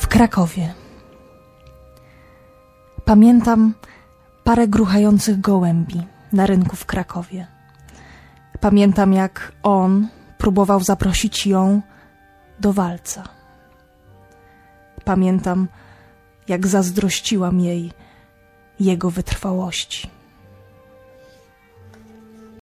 W Krakowie. Pamiętam parę gruchających gołębi na rynku w Krakowie. Pamiętam, jak on próbował zaprosić ją do walca. Pamiętam, jak zazdrościłam jej jego wytrwałości.